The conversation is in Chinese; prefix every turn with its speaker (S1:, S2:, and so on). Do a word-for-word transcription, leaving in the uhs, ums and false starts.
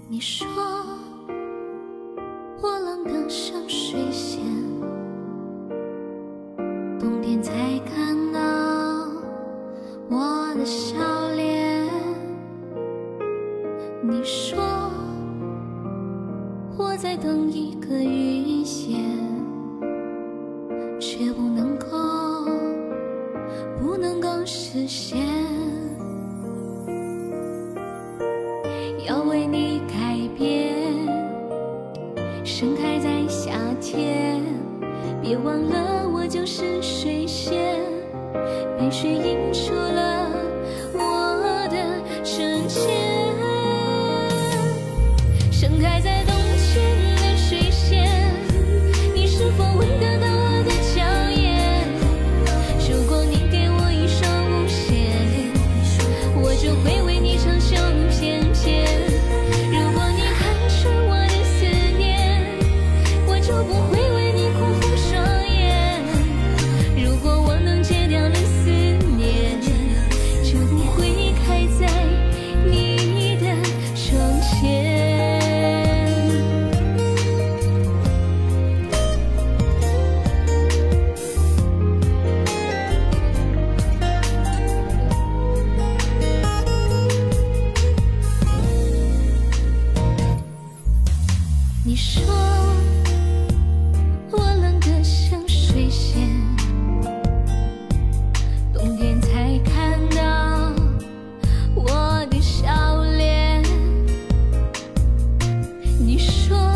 S1: 你说我冷得像水仙，冬天才看到我的笑脸。你说我在等一个遇见，却不能够不能够实现。要为你改变，盛开在夏天，别忘了我就是水仙，被水映出了我的纯洁。盛开在冬天的水仙，你是否闻得到我的娇艳？如果你给我一双无限，我就会为你长袖翩翩。如果你看穿我的思念，我就不会为你哭红双眼。如果我能戒掉了思念，就不会开在你的窗前。你说我冷得像水仙，冬天才看到我的笑脸。你说